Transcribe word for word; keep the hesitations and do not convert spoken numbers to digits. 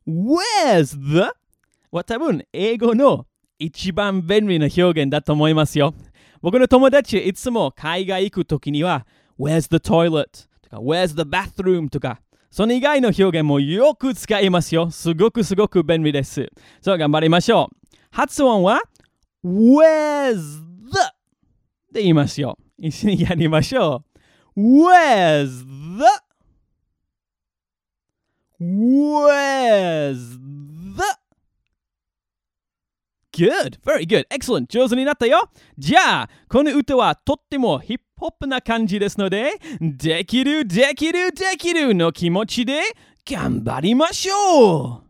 Where's the? は多分英語の一番便利な表現だと思いますよ。僕の友達はいつも海外行くときには Where's the toilet? とか Where's the bathroom? とかその以外の表現もよく使いますよ。すごくすごく便利です。そう、頑張りましょう。発音は Where's the? で言いますよ。一緒にやりましょう。Where's the? Where's the? Good, very good, excellent. 上手になったよ。じゃあ、この歌はとってもヒップホップな感じですので、できるできるできるの気持ちで頑張りましょう。